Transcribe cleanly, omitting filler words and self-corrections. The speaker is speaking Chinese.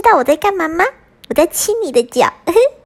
道我在干嘛吗？我在亲你的脚。